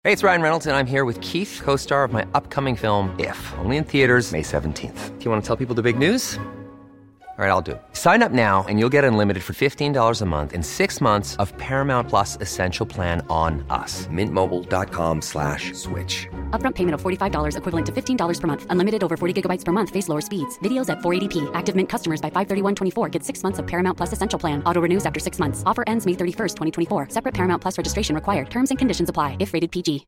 Hey, it's Ryan Reynolds, and I'm here with Keith, co-star of my upcoming film, If, only in theaters May 17th. Do you want to tell people the big news? All right, I'll do it. Sign up now and you'll get unlimited for $15 a month and 6 months of Paramount Plus Essential Plan on us. MintMobile.com/switch. Upfront payment of $45 equivalent to $15 per month. Unlimited over 40 gigabytes per month. Face lower speeds. Videos at 480p. Active Mint customers by 531.24 get 6 months of Paramount Plus Essential Plan. Auto renews after 6 months. Offer ends May 31st, 2024. Separate Paramount Plus registration required. Terms and conditions apply if rated PG.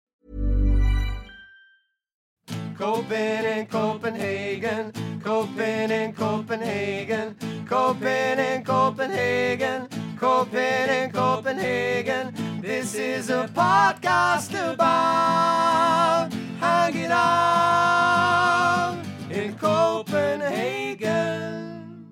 Copen in Copenhagen, Copen in Copenhagen, Copen in Copenhagen, Copen in Copenhagen. This is a podcast about hanging out in Copenhagen.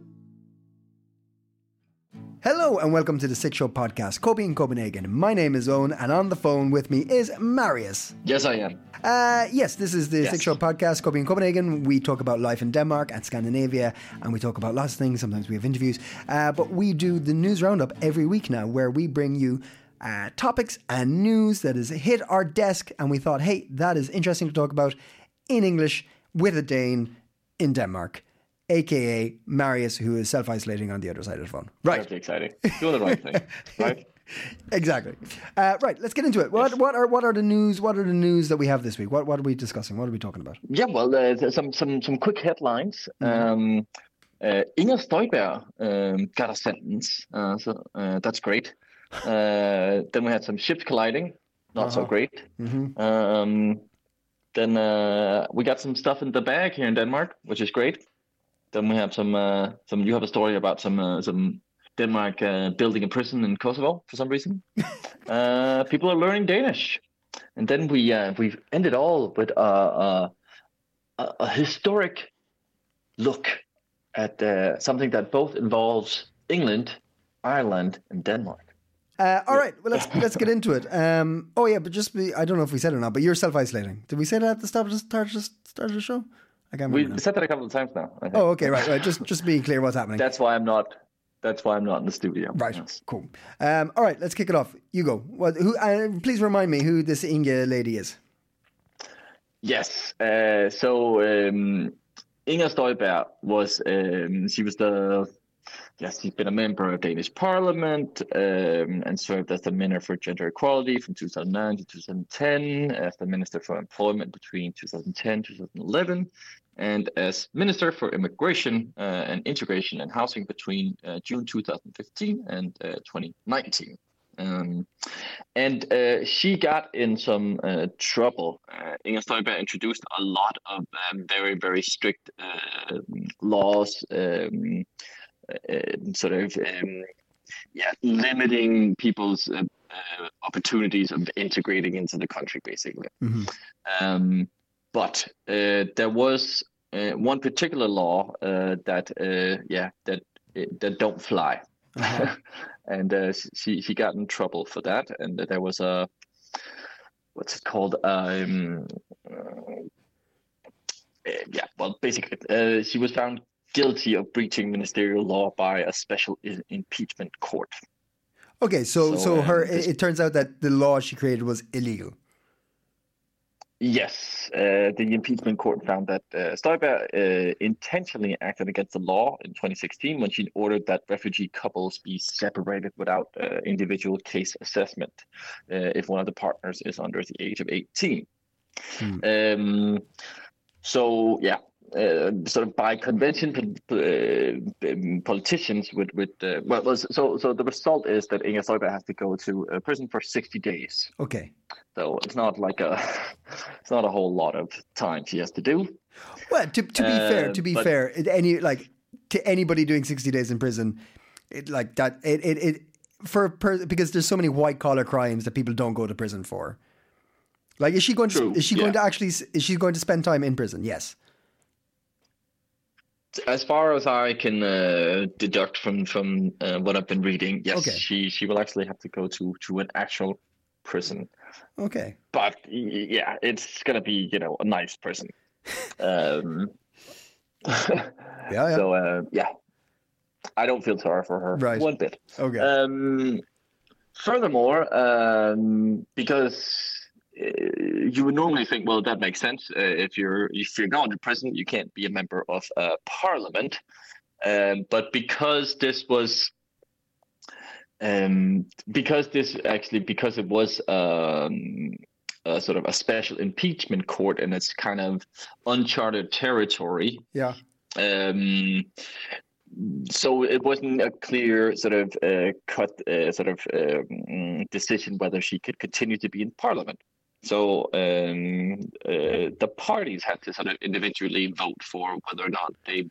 Hello and welcome to the Sick Show podcast, Kobe in Copenhagen. My name is Owen and on the phone with me is Marius. Yes, I am. Yes, this is the Sick Show podcast, Kobe in Copenhagen. We talk about life in Denmark and Scandinavia, and we talk about lots of things. Sometimes we have interviews, but we do the news roundup every week now, where we bring you topics and news that has hit our desk, and we thought, hey, that is interesting to talk about in English with a Dane in Denmark, aka Marius, who is self-isolating on the other side of the phone. Right. That's exciting. Doing the right thing, right? Exactly. Right. Let's get into it. What are the news? What are the news that we have this week? What are we discussing? What are we talking about? Yeah, well, some quick headlines. Inger Støjberg got a sentence, so that's great. Then we had some ships colliding, not so great. Then we got some stuff in the bag here in Denmark, which is great. Then we have some. You have a story about some Denmark building a prison in Kosovo for some reason. People are learning Danish, and then we ended all with a historic look at something that both involves England, Ireland, and Denmark. All right, well let's get into it. I don't know if we said it or not, but you're self-isolating. Did we say that at the start of the show? I can't remember. We said that a couple of times now. I think. Oh, okay, right. Just being clear what's happening. That's why I'm not in the studio. Right, yes. Cool. All right, let's kick it off. You go. Please remind me who this Inge lady is. Yes. Inger Støjberg was. She's been a member of Danish Parliament and served as the Minister for Gender Equality from 2009 to 2010, as the Minister for Employment between 2010 and 2011, and as Minister for Immigration and Integration and Housing between June 2015 and 2019. She got in some trouble. Inger Støjberg introduced a lot of very, very strict laws, limiting people's opportunities of integrating into the country, basically. But there was one particular law that don't fly, and she got in trouble for that. And there was she was found guilty of breaching ministerial law by a special impeachment court. Okay, so it turns out that the law she created was illegal. Yes, the impeachment court found that Støjberg intentionally acted against the law in 2016 when she ordered that refugee couples be separated without individual case assessment if one of the partners is under the age of 18. Sort of by convention, politicians so the result is that Inger Støjberg has to go to prison for 60 days. Okay. So it's not a whole lot of time she has to do. Well, to be fair, to anybody doing 60 days in prison, because there's so many white collar crimes that people don't go to prison for. Like, is she going to spend time in prison? Yes. As far as I can deduct from what I've been reading, yes, okay. She will actually have to go to an actual prison. Okay. But yeah, it's gonna be a nice prison. Yeah. So I don't feel sorry for her one bit. Okay. Furthermore, because you would normally think, well, that makes sense. If you're going to prison, you can't be a member of parliament. But because it was sort of a special impeachment court, and it's kind of uncharted territory. Yeah. So it wasn't a clear sort of decision whether she could continue to be in parliament. So the parties had to sort of individually vote for whether or not they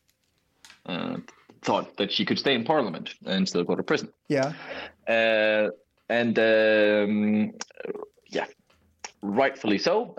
thought that she could stay in parliament and still go to prison. Yeah. Rightfully so.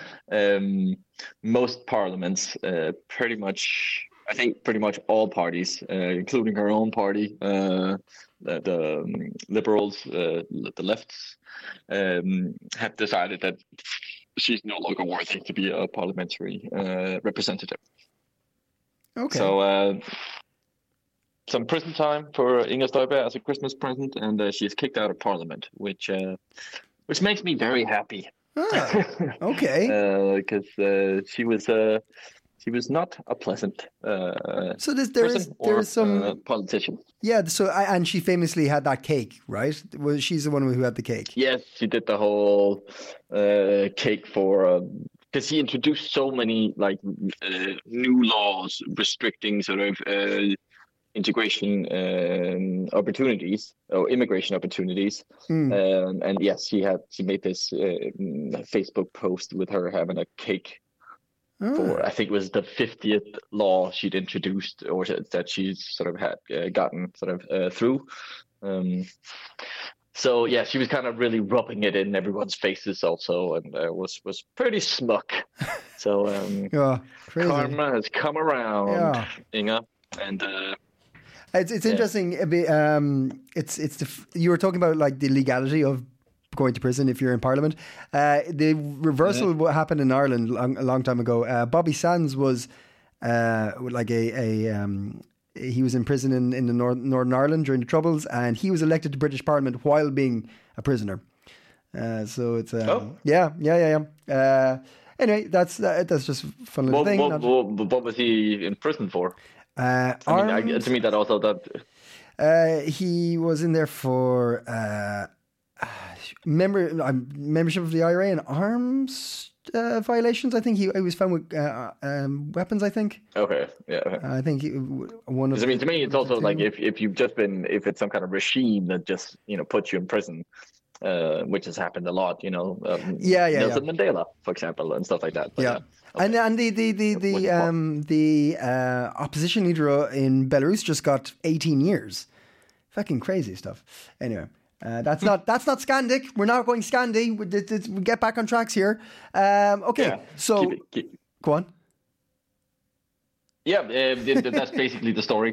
Most parliaments, pretty much all parties, including her own party, the Liberals, the lefts, have decided that she's no longer worthy to be a parliamentary representative. Okay. So some prison time for Inger Støjberg as a Christmas present, and she's kicked out of parliament, which makes me very happy. Ah, okay. Because she was not a pleasant so there is some politician. Yeah. So and she famously had that cake, right? Well, she's the one who had the cake. Yes, she did the whole cake for. Because he introduced so many new laws restricting sort of integration opportunities or immigration opportunities, and yes, she made this Facebook post with her having a cake for, I think it was the 50th law she'd introduced or that she's sort of had gotten sort of through. So yeah, she was kind of really rubbing it in everyone's faces also, and was pretty smuck. So crazy. Karma has come around, Inga, and it's interesting. You were talking about like the legality of going to prison if you're in Parliament. The reversal what happened in Ireland a long time ago. Bobby Sands was he was in prison in the Northern Ireland during the Troubles, and he was elected to British Parliament while being a prisoner. So it's yeah. Anyway, that's just a fun little thing. What was he in prison for? To me, that also he was in there for membership of the IRA and arms violations. I think he was found with weapons. I think. Okay. Yeah. I think one of. To me, it's also like if it's some kind of regime that just puts you in prison, which has happened a lot. Nelson Mandela, for example, and stuff like that. But, yeah. Okay. And the opposition leader in Belarus just got 18 years. Fucking crazy stuff. Anyway. That's not Scandic. We're not going Scandi. We get back on tracks here. Okay, yeah. So go on. Yeah, that's basically the story.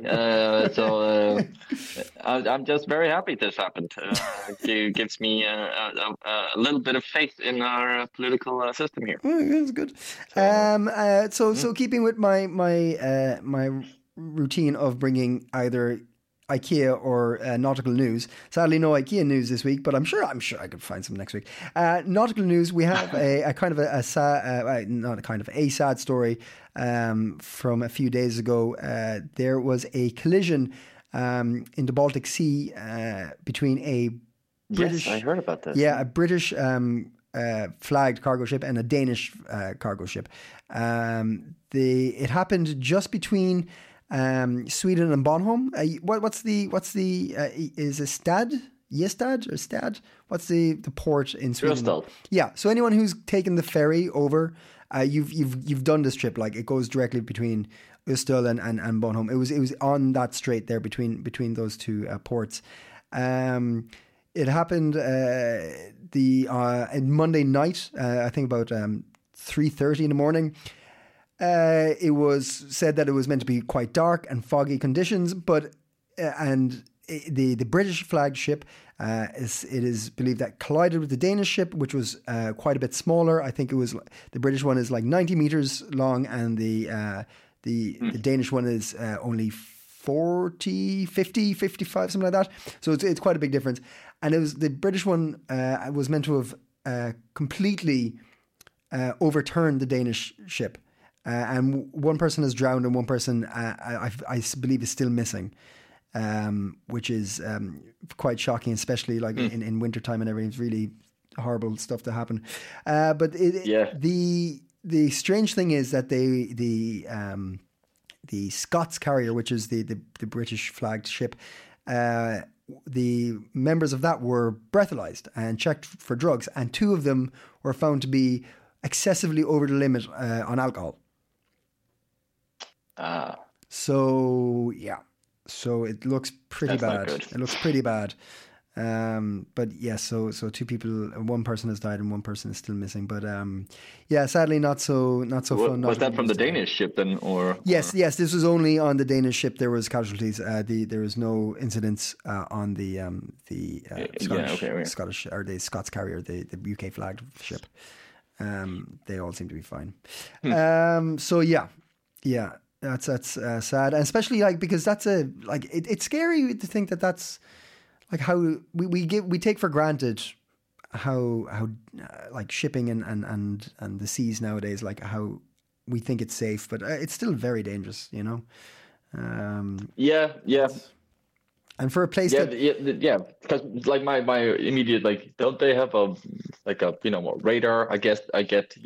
I'm just very happy this happened. It gives me a little bit of faith in our political system here. That's good. So keeping with my routine of bringing either IKEA or nautical news. Sadly, no IKEA news this week, but I'm sure I could find some next week. Nautical news. We have a sad story from a few days ago. There was a collision in the Baltic Sea between a British. Yes, I heard about that. Yeah, a British flagged cargo ship and a Danish cargo ship. It happened just between Sweden and Bornholm. What's the is it Ystad or Stad? What's the port in Sweden? Ystad. Yeah. So anyone who's taken the ferry over, you've done this trip. Like it goes directly between Ystad and Bornholm. It was on that strait there between those two ports. It happened Monday night. I think about 3:30 in the morning. It was said that it was meant to be quite dark and foggy conditions, but the British flagged ship it is believed that collided with the Danish ship, which was quite a bit smaller. I think it was the British one is like 90 meters long, and the Danish one is only 40, 50, 55, something like that. So it's quite a big difference. And it was the British one was meant to have completely overturned the Danish ship. And one person has drowned and one person, I believe, is still missing, which is quite shocking, especially like in wintertime and everything. It's really horrible stuff to happen. But the strange thing is that the Scots carrier, which is the British flagged ship, the members of that were breathalyzed and checked for drugs, and 2 of them were found to be excessively over the limit on alcohol. So it looks pretty bad. It looks pretty bad. But yeah, so 2 people, one person has died and one person is still missing. But sadly not so fun. Was that from the Danish ship then, or? Yes, this was only on the Danish ship. There was casualties. There was no incidents on the Scottish or the Scots carrier, the UK flagged ship. They all seem to be fine. That's sad, and especially like because that's it's scary to think that's like how we take for granted how like shipping and the seas nowadays, like how we think it's safe, but it's still very dangerous, you know. And for a place because like my immediate, like, don't they have a radar? I get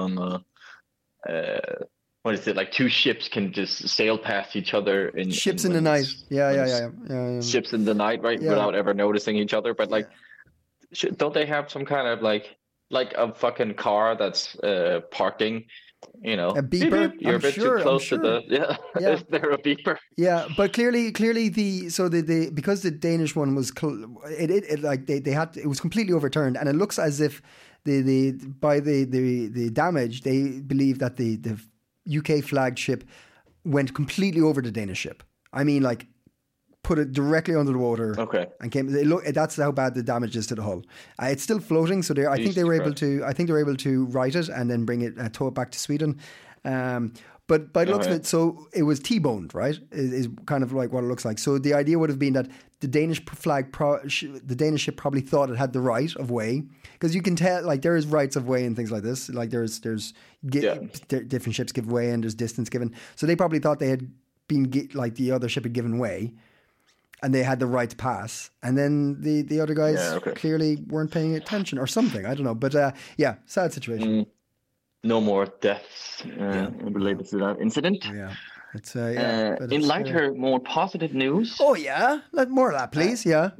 what is it, like 2 ships can just sail past each other in ships in the night. Yeah. Ships in the night, right? Yeah. Without ever noticing each other. But like, don't they have some kind of like a fucking car that's parking? You know, a beeper. You're a bit too close to the. Yeah. Is there a beeper? Yeah, but clearly because the Danish one was it was completely overturned, and it looks as if by the damage they believe that the UK flagged ship went completely over the Danish ship. I mean, like, put it directly under the water. Okay. And that's how bad the damage is to the hull. It's still floating, so I think they were able to right it and then bring it, tow it back to Sweden. But by the looks of it, so it was T-boned, right? Is kind of like what it looks like. So the idea would have been that the Danish the Danish ship probably thought it had the right of way, because you can tell, like, there is rights of way and things like this. Like different ships give way and there's distance given. So they probably thought they had been like the other ship had given way, and they had the right to pass. And then the other guys clearly weren't paying attention or something. I don't know, but sad situation. No more deaths related to that incident. Yeah. It's in lighter, more positive news. Oh yeah, more of that, please. We're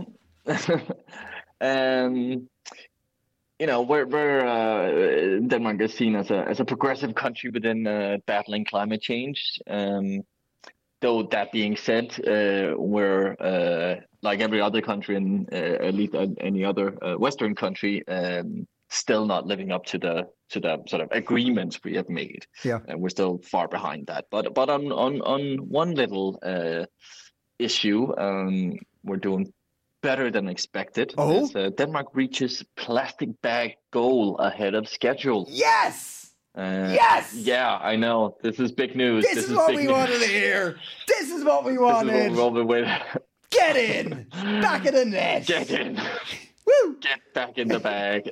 Denmark is seen as a progressive country within battling climate change. Though that being said, we're like every other country, and at least any other Western country, still not living up to the sort of agreements we have made. Yeah, and we're still far behind that. But on one little issue, we're doing better than expected. Oh, Denmark reaches plastic bag goal ahead of schedule. Yes. Yes. Yeah, I know. This is big news. This is what we wanted to hear. This is what we wanted. This is what we've been waiting. Get in. Back of the net. Get in. Woo! Get back in the bag.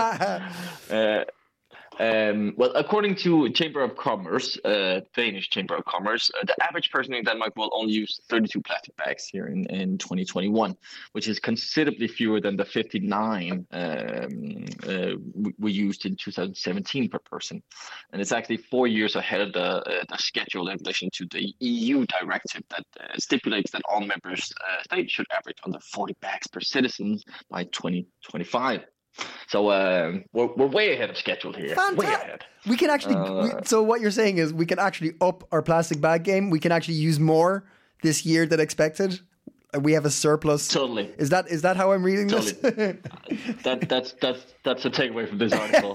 Well, according to Chamber of Commerce, Danish Chamber of Commerce, the average person in Denmark will only use 32 plastic bags here in 2021, which is considerably fewer than the 59 we used in 2017 per person. And it's actually 4 years ahead of the schedule in relation to the EU directive that stipulates that all member states should average under 40 bags per citizen by 2025. So we're way ahead of schedule here. Fantastic. Way ahead. We can actually. So what you're saying is we can actually up our plastic bag game. We can actually use more this year than expected. We have a surplus. Totally. Is that how I'm reading this? That's a takeaway from this article.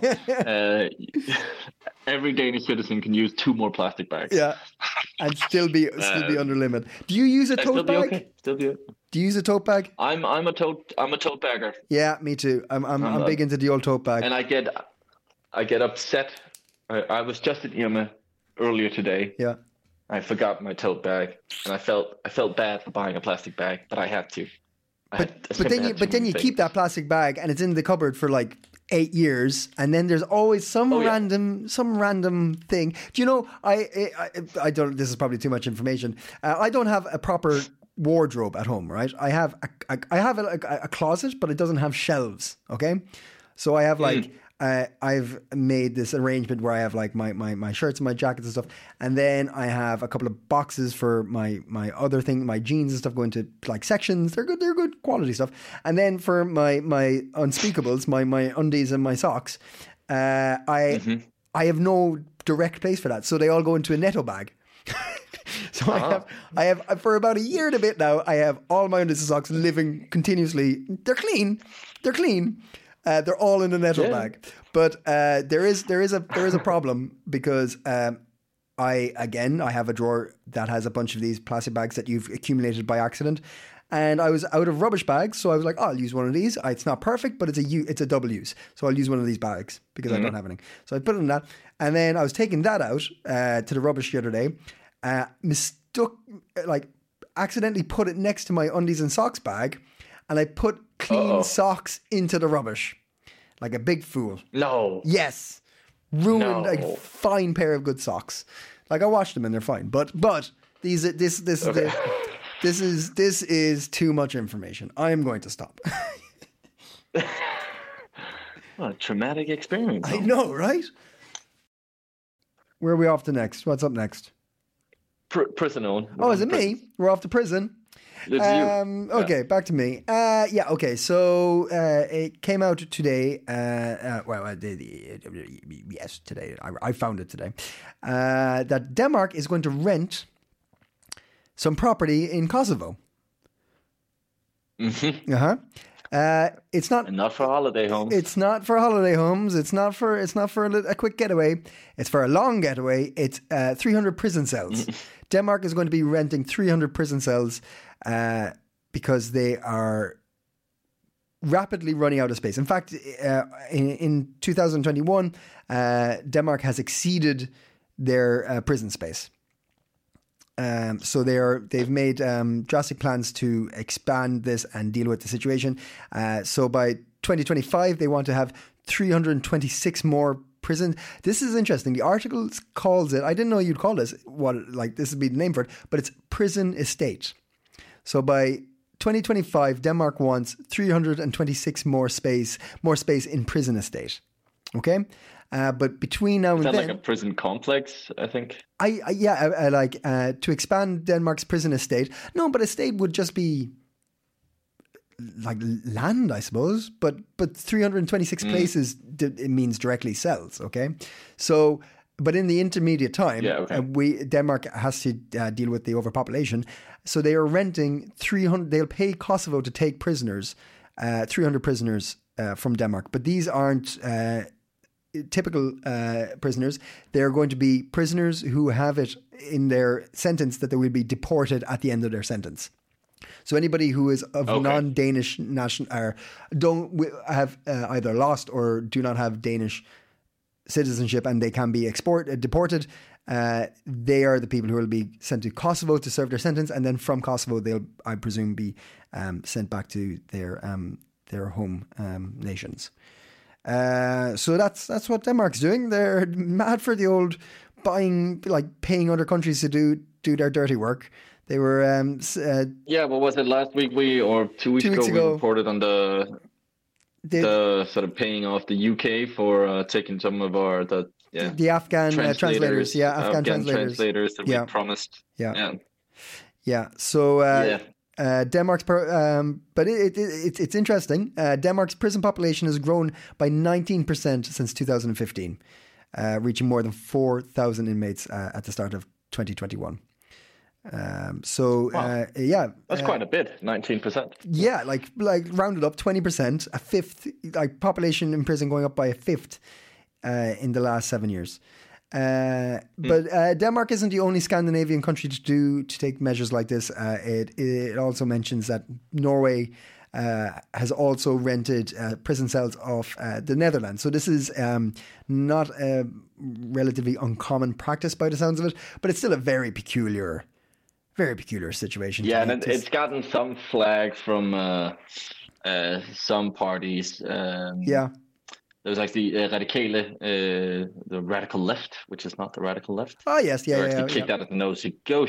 Every Danish citizen can use 2 more plastic bags. Yeah, and still be under limit. Do you use a tote bag? Okay. Still be okay. Do you use a tote bag? I'm a tote bagger. Yeah, me too. I'm big into the old tote bag. And I get upset. I was just at Irma earlier today. Yeah. I forgot my tote bag, and I felt bad for buying a plastic bag, but I had to. But then you keep that plastic bag, and it's in the cupboard for like 8 years, and then there's always some random thing. Do you know? I don't. This is probably too much information. I don't have a proper wardrobe at home, right? I have a closet, but it doesn't have shelves. Okay, so I have like I've made this arrangement where I have like my shirts and my jackets and stuff, and then I have a couple of boxes for my other thing, my jeans and stuff, go into like sections. They're good quality stuff. And then for my unspeakables, my undies and my socks, I have no direct place for that, so they all go into a Netto bag. So I have for about a year and a bit now, I have all my undies and socks living continuously. They're clean. They're all in a Netto bag. But there is a problem because I have a drawer that has a bunch of these plastic bags that you've accumulated by accident. And I was out of rubbish bags, so I was like, I'll use one of these. It's not perfect, but it's a double use. So I'll use one of these bags because I don't have any. So I put it in that. And then I was taking that out to the rubbish the other day. Accidentally put it next to my undies and socks bag, and I put clean socks into the rubbish. Like a big fool. No. Yes. Ruined a fine pair of good socks. Like I washed them and they're fine. But this is too much information. I am going to stop. What a traumatic experience. I know, right? Where are we off to next? What's up next? Prison on. Oh, is it me? We're off to prison. It's you. Okay, back to me. Okay. So it came out today. Yes, today. I found it today. That Denmark is going to rent some property in Kosovo. Mm-hmm. It's not. And not for holiday homes. It's not for holiday homes. It's not for a quick getaway. It's for a long getaway. It's 300 prison cells. Denmark is going to be renting 300 prison cells because they are rapidly running out of space. In fact, in 2021, Denmark has exceeded their prison space. So they've made drastic plans to expand this and deal with the situation. So by 2025, they want to have 326 more prisons. This is interesting. The article calls it, I didn't know you'd call this, this would be the name for it, but it's prison estate. So by 2025, Denmark wants 326 more space in prison estate. Okay? But between now and then, like a prison complex, I think. To expand Denmark's prison estate. No, but estate would just be like land, I suppose. But 326 places it means directly cells. Okay, so but in the intermediate time, Denmark has to deal with the overpopulation. So they are renting 300. They'll pay Kosovo to take prisoners, 300 prisoners from Denmark. But these aren't typical prisoners. They're going to be prisoners who have it in their sentence that they will be deported at the end of their sentence. So anybody who is of non-Danish don't have either lost or do not have Danish citizenship and they can be deported, they are the people who will be sent to Kosovo to serve their sentence, and then from Kosovo they'll, I presume, be sent back to their home nations. So that's what Denmark's doing. They're mad for the old paying other countries to do their dirty work. They were what was it last week? 2 weeks ago we reported on the sort of paying off the UK for taking some of the Afghan translators. Afghan translators that we promised. So Denmark's, but it's interesting. Denmark's prison population has grown by 19% since 2015, reaching more than 4,000 inmates at the start of 2021. That's quite a bit, 19%. Yeah, like rounded up 20%, a fifth, like population in prison going up by a fifth in the last 7 years. But Denmark isn't the only Scandinavian country to take measures like this. It also mentions that Norway has also rented prison cells off the Netherlands. So this is not a relatively uncommon practice by the sounds of it, but it's still a very peculiar situation. Yeah, and it's gotten some flag from some parties. there's like the radicale, the radical left, which is not the radical left. Oh yes, They're actually kicked out of those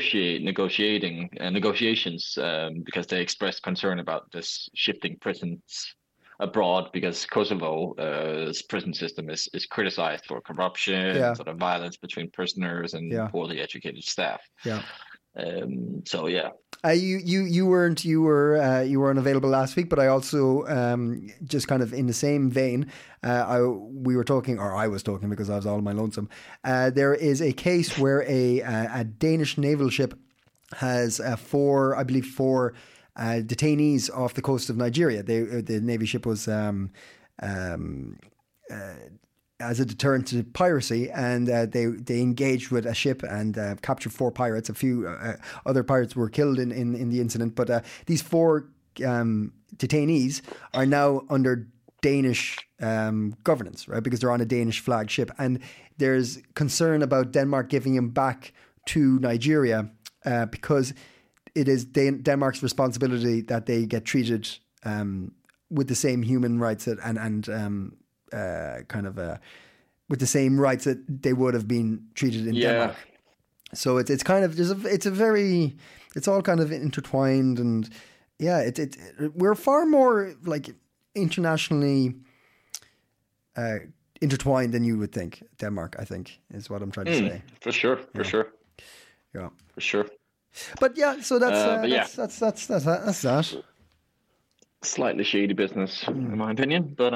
negotiations because they expressed concern about this shifting prisons abroad, because Kosovo's prison system is criticized for corruption, sort of violence between prisoners and poorly educated staff. Yeah. So yeah. You were unavailable last week, but I also just kind of in the same vein, I was talking because I was all on my lonesome. There is a case where a Danish naval ship has four detainees off the coast of Nigeria. The Navy ship was as a deterrent to piracy, and they engaged with a ship and captured 4 pirates. A few other pirates were killed in the incident, but these 4 detainees are now under Danish governance, right? Because they're on a Danish flag ship, and there's concern about Denmark giving them back to Nigeria because it is Denmark's responsibility that they get treated with the same human rights with the same rights that they would have been treated in Denmark. So it's kind of it's all kind of intertwined, and we're far more like internationally intertwined than you would think. Denmark, I think, is what I'm trying to say. For sure. Yeah, for sure. But yeah, so that's that. Slightly shady business, in my opinion, but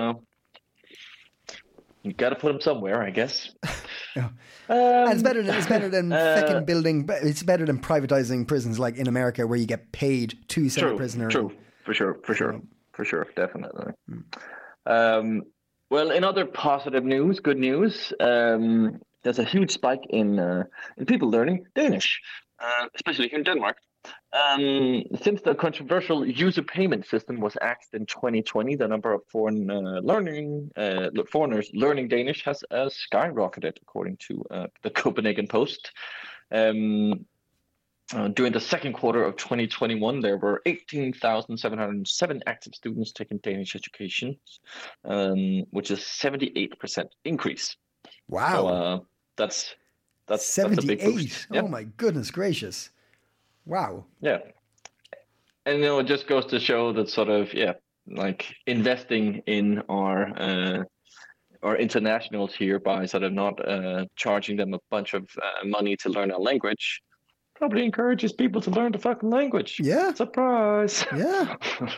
you got to put them somewhere, I guess. Yeah. And it's better than fucking building. It's better than privatizing prisons like in America, where you get paid to send a prisoner. True, for sure, definitely. Well, in other positive news, good news, there's a huge spike in people learning Danish, especially here in Denmark. Since the controversial user payment system was axed in 2020, the number of foreigners learning Danish has skyrocketed, according to the Copenhagen Post. During the second quarter of 2021, there were 18,707 active students taking Danish education, which is 78% increase. Wow, so, that's 78. A big boost. Oh my goodness gracious! Wow. Yeah. And it just goes to show that sort of, like investing in our internationals here by sort of not charging them a bunch of money to learn a language probably encourages people to learn the fucking language. Yeah. Surprise. Yeah.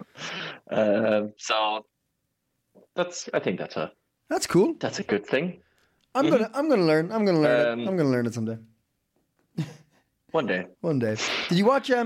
So I think that's cool. That's a good thing. I'm gonna learn. I'm gonna learn it. I'm gonna learn it someday. One day. Did you watch?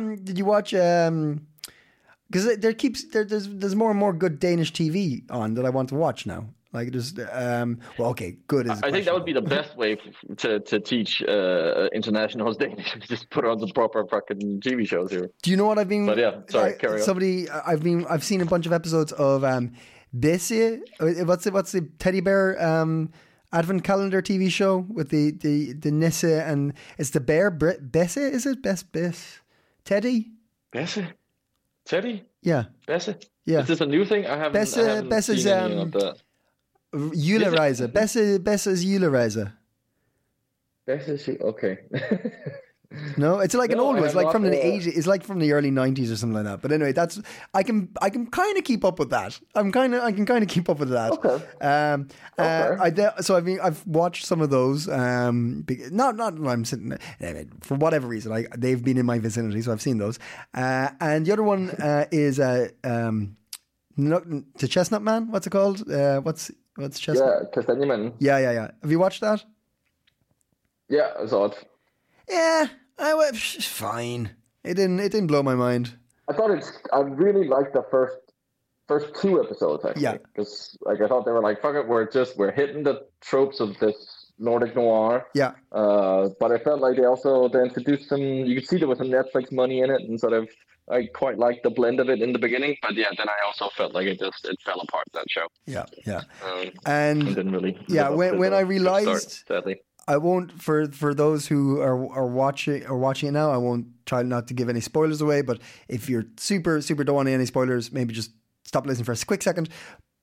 Because there's more and more good Danish TV on that I want to watch now. Like just good is. I think that would be the best way to teach internationals Danish. Just put on the proper fucking TV shows here. Do you know what I've been? But yeah, sorry, carry on. I've seen a bunch of episodes of Bessie. What's the teddy bear advent calendar TV show with the Nisse, and it's the bear Bessie, is it? Bess Teddy? Bessie? Teddy? Yeah. Bessie? Yeah. Is this a new thing? I haven't Bessie's seen any of that. Julereiser. Bessie's Julereiser. Bessie, okay. No, it's like an old one. It's like from the 80s. It's like from the early 90s or something like that. But anyway, I can kind of keep up with that. I can kind of keep up with that. Okay. So I've watched some of those. Not I'm sitting for whatever reason. They've been in my vicinity, so I've seen those. And the other one is the Chestnut Man. What's it called? What's Chestnut? Yeah, Kastanjeman. Yeah. Have you watched that? Yeah, I saw it. Yeah, fine. It didn't blow my mind. I really liked the first 2 episodes actually. Yeah. Because I thought they were like, fuck it, we're hitting the tropes of this Nordic noir. Yeah. But I felt like they introduced some. You could see there was some Netflix money in it, and sort of I quite liked the blend of it in the beginning. But yeah, then I also felt like it fell apart, that show. Yeah. And didn't really. Yeah, when I realized. Start, sadly. I won't, for those who are watching it now, I won't try not to give any spoilers away, but if you're super don't want any spoilers, maybe just stop listening for a quick second.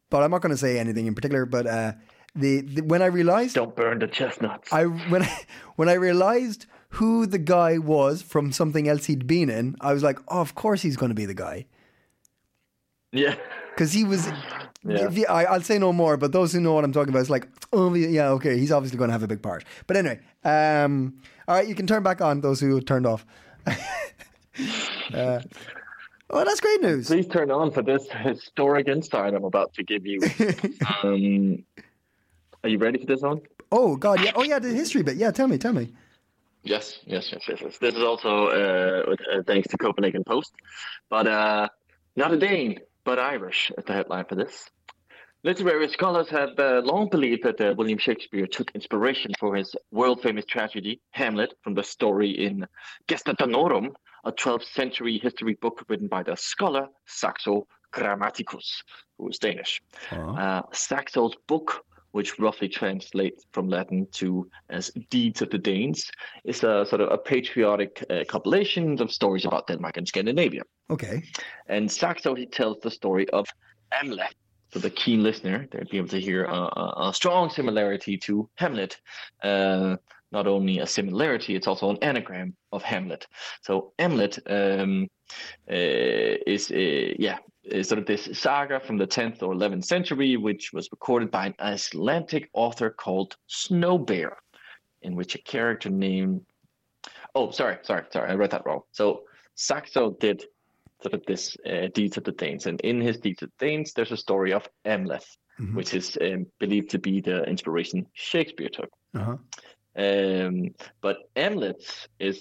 but I'm not going to say anything in particular. But the when I realized, Don't burn the chestnuts. when I realized who the guy was from something else he'd been in, I was like, oh, of course he's going to be the guy. Yeah. Because he was, Yeah. I'll say no more, but those who know what I'm talking about, it's like, oh, yeah, okay, he's obviously going to have a big part. But anyway, all right, you can turn back on, those who turned off. Oh, that's great news. Please turn on for this historic insight I'm about to give you. Are you ready for this one? Oh, God, yeah. Oh, yeah, the history bit. Yeah, tell me. Yes. This is also thanks to Copenhagen Post. But not a Dane, but Irish is the headline for this. Literary scholars have long believed that William Shakespeare took inspiration for his world-famous tragedy, Hamlet, from the story in Gesta Danorum, a 12th century history book written by the scholar Saxo Grammaticus, who is Danish. Saxo's book, which roughly translates from Latin to as Deeds of the Danes, is a sort of a patriotic compilation of stories about Denmark and Scandinavia. Okay. And Saxo, he tells the story of Amleth. So the keen listener, they'll be able to hear a strong similarity to Hamlet. Not only a similarity, it's also an anagram of Hamlet. So Amlet is sort of this saga from the 10th or 11th century, which was recorded by an Icelandic author called Snowbear, in which a character named... Oh, sorry, I read that wrong. So Saxo did sort of this Deeds of the Danes, and in his Deeds of the Danes, there's a story of Amleth, which is believed to be the inspiration Shakespeare took. Uh-huh. But Amleth is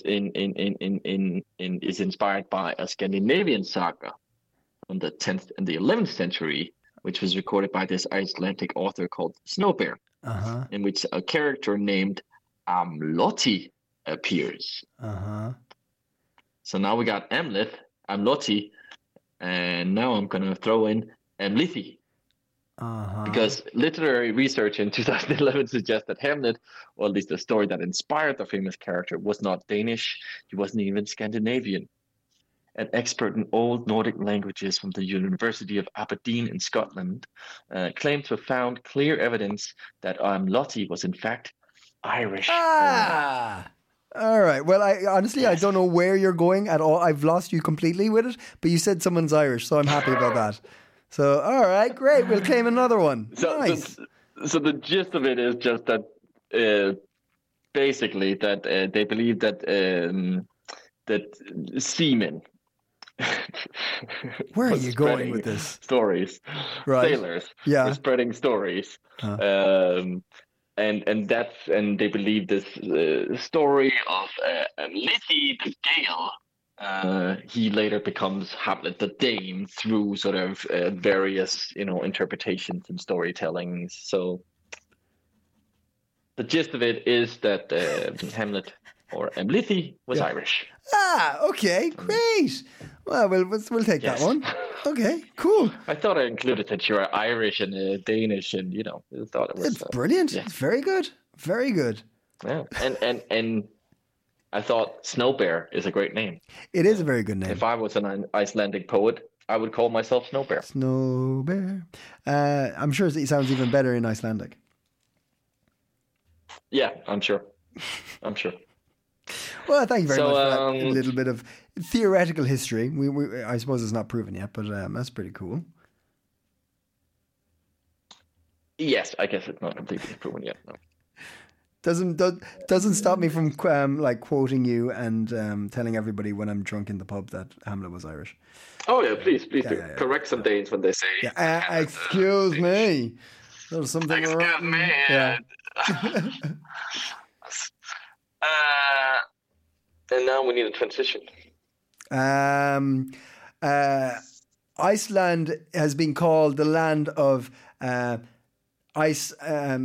is inspired by a Scandinavian saga from the 10th and the 11th century, which was recorded by this Icelandic author called Snowbear, in which a character named Amloti appears. So now we got Amleth, Amloti, and now I'm going to throw in Amlithi. Because literary research in 2011 suggests that Hamlet, or at least the story that inspired the famous character, was not Danish. He wasn't even Scandinavian. An expert in old Nordic languages from the University of Aberdeen in Scotland claimed to have found clear evidence that Amloti was in fact Irish. All right. Well, I don't know where you're going at all. I've lost you completely with it, but you said someone's Irish, so I'm happy about that. So, all right, great. We'll claim another one. Nice. So the gist of it is just that basically that they believe that seamen. Where are you going with this? Stories, right? Sailors, yeah, were spreading stories, and they believe this story of Lithi the Gale. He later becomes Hamlet the Dane through sort of various, interpretations and storytellings. So the gist of it is that Hamlet or Amlithi was Irish. Okay, great. Well, we'll take that one. Okay, cool. I thought I included that you're Irish and Danish, and I thought it was. It's brilliant. Yeah. It's very good. Very good. Yeah, and I thought Snowbear is a great name. It is a very good name. If I was an Icelandic poet, I would call myself Snowbear. Snowbear. I'm sure it sounds even better in Icelandic. Yeah, I'm sure. Well, thank you very much for that little bit of theoretical history. I suppose it's not proven yet, but that's pretty cool. Yes, I guess it's not completely proven yet. No. Doesn't stop me from quoting you and telling everybody when I'm drunk in the pub that Hamlet was Irish. Oh yeah, please do. Correct some Danes when they say. Yeah, excuse me. There's something wrong. Excuse me. Yeah. And now we need a transition. Iceland has been called the land of ice.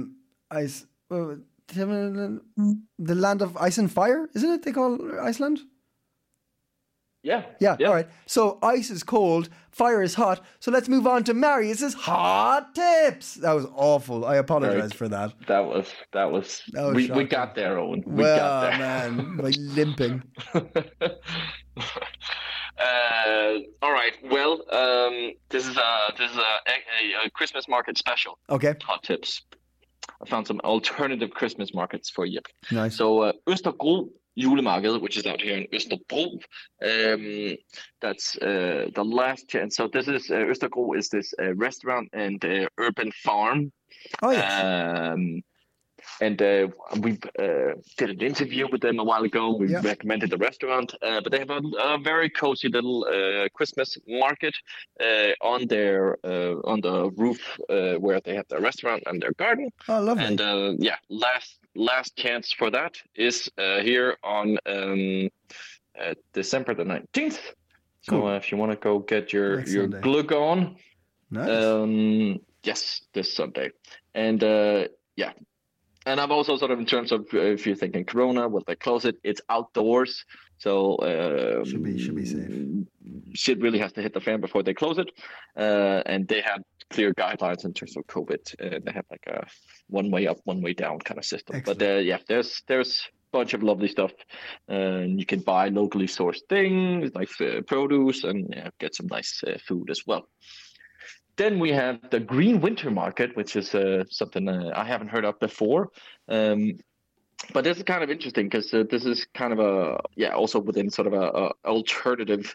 The land of ice and fire, isn't it? They call Iceland. Yeah. All right. So ice is cold, fire is hot. So let's move on to Marius's hot tips. That was awful. I apologize for that. That was we got there, Owen. We got there. Man, like limping. All right. Well, this is a Christmas market special. Okay. Hot tips. I found some alternative Christmas markets for you. Nice. So Østerbro Julemarked, which is out here in Østerbro. That's the last chance. So this is Østerbro is this restaurant and urban farm. Oh yes. And we did an interview with them a while ago. We recommended the restaurant, but they have a very cozy little Christmas market on the roof where they have their restaurant and their garden. Oh, lovely! And last chance for that is here on December the 19th. So if you want to go get your glug on, nice. Yes, this Sunday, and yeah. And I'm also sort of in terms of if you're thinking Corona, will they close it? It's outdoors, so should be safe. Shit really has to hit the fan before they close it, and they have clear guidelines in terms of COVID. They have like a one way up, one way down kind of system. Excellent. But there's a bunch of lovely stuff. You can buy locally sourced things like produce and get some nice food as well. Then we have the Green Winter Market, which is something I haven't heard of before. But this is kind of interesting because this is kind of also within sort of a alternative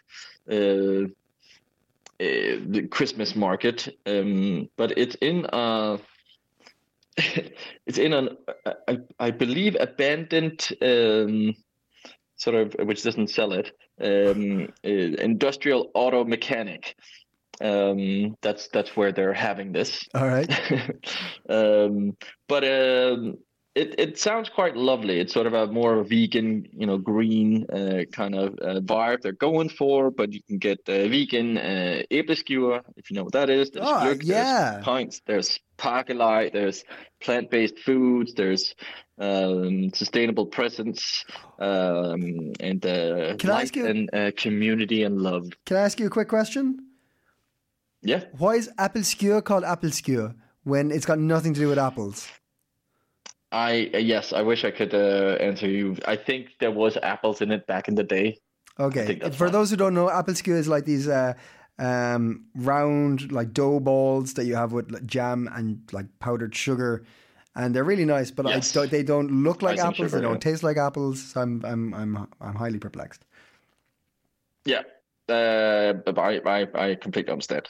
the Christmas market. But it's in an I believe abandoned sort of, which doesn't sell it, industrial auto mechanic. That's where they're having this. All right. But it sounds quite lovely. It's sort of a more vegan, green kind of vibe they're going for. But you can get vegan æbleskewer, if you know what that is. There's gløgg, there's pints, there's pakkelej, there's plant-based foods, there's sustainable presents, and light and community and love. Can I ask you a quick question? Yeah. Why is æbleskewer called æbleskewer when it's got nothing to do with apples? Yes, I wish I could answer you. I think there was apples in it back in the day. Okay. For those who don't know, æbleskewer is like these round like dough balls that you have with like, jam and like powdered sugar, and they're really nice. But they don't look like apples. They don't taste like apples. So I'm highly perplexed. Yeah. I completely understand.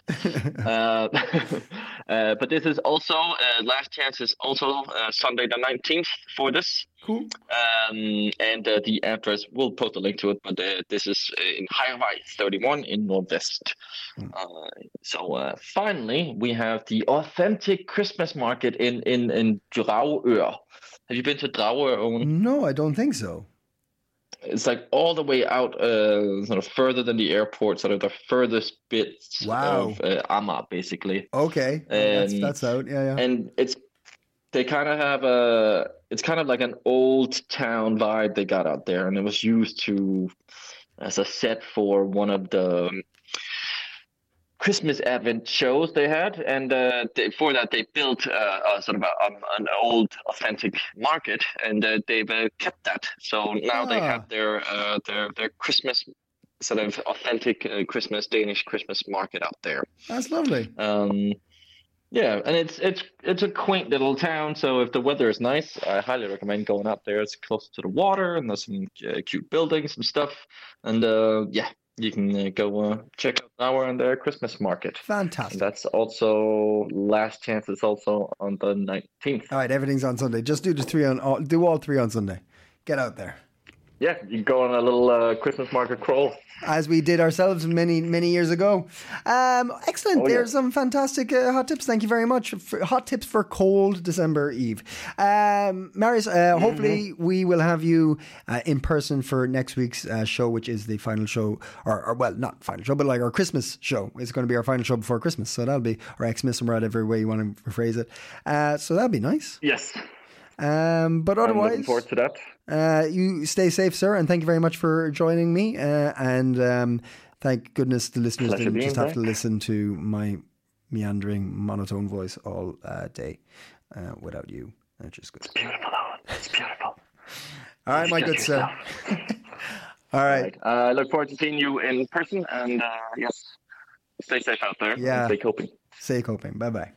But this is also last chance is also Sunday the 19th for this. Cool. And the address, we'll post a link to it, but this is in Highway 31 in Nordvest. So finally, we have the authentic Christmas market in Dragør. Have you been to Dragør, Owen? No, I don't think so. It's like all the way out, sort of further than the airport, sort of the furthest bits of Amager, basically. Okay, that's out. Yeah. And they kind of have it's kind of like an old town vibe they got out there, and it was used as a set for one of the Christmas Advent shows they had, and for that they built sort of an old authentic market, and they've kept that. So now they have their Christmas sort of authentic Danish Christmas market out there. That's lovely. Yeah, and it's a quaint little town. So if the weather is nice, I highly recommend going out there. It's close to the water, and there's some cute buildings and stuff, and you can go check out Dragør and their Christmas market. Fantastic. And that's also last chance. It's also on the 19th. All right, everything's on Sunday. Just do all three on Sunday. Get out there. Yeah, you can go on a little Christmas market crawl. As we did ourselves many, many years ago. Excellent. There's some fantastic hot tips. Thank you very much. Hot tips for cold December Eve. Marius, hopefully we will have you in person for next week's show, which is the final show, or well, not final show, but like our Christmas show. It's going to be our final show before Christmas. So that'll be, or Xmas, or whatever way you want to rephrase it. So that'll be nice. Yes. But otherwise, I'm looking forward to that. You stay safe, sir, and thank you very much for joining me. And thank goodness the listeners didn't just have to listen to my meandering monotone voice all day without you. That's just good. It's beautiful, Owen. It's beautiful. All right, my good sir. All right. I look forward to seeing you in person, and yes, stay safe out there. Yeah. And stay coping. Stay coping. Bye-bye.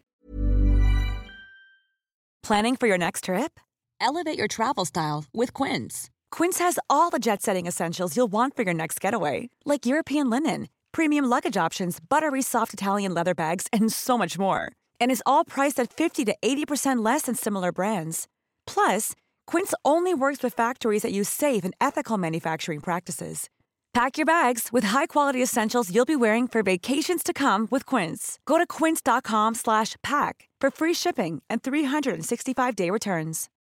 Planning for your next trip? Elevate your travel style with Quince. Quince has all the jet-setting essentials you'll want for your next getaway, like European linen, premium luggage options, buttery soft Italian leather bags, and so much more. And is all priced at 50 to 80% less than similar brands. Plus, Quince only works with factories that use safe and ethical manufacturing practices. Pack your bags with high-quality essentials you'll be wearing for vacations to come with Quince. Go to quince.com/pack for free shipping and 365-day returns.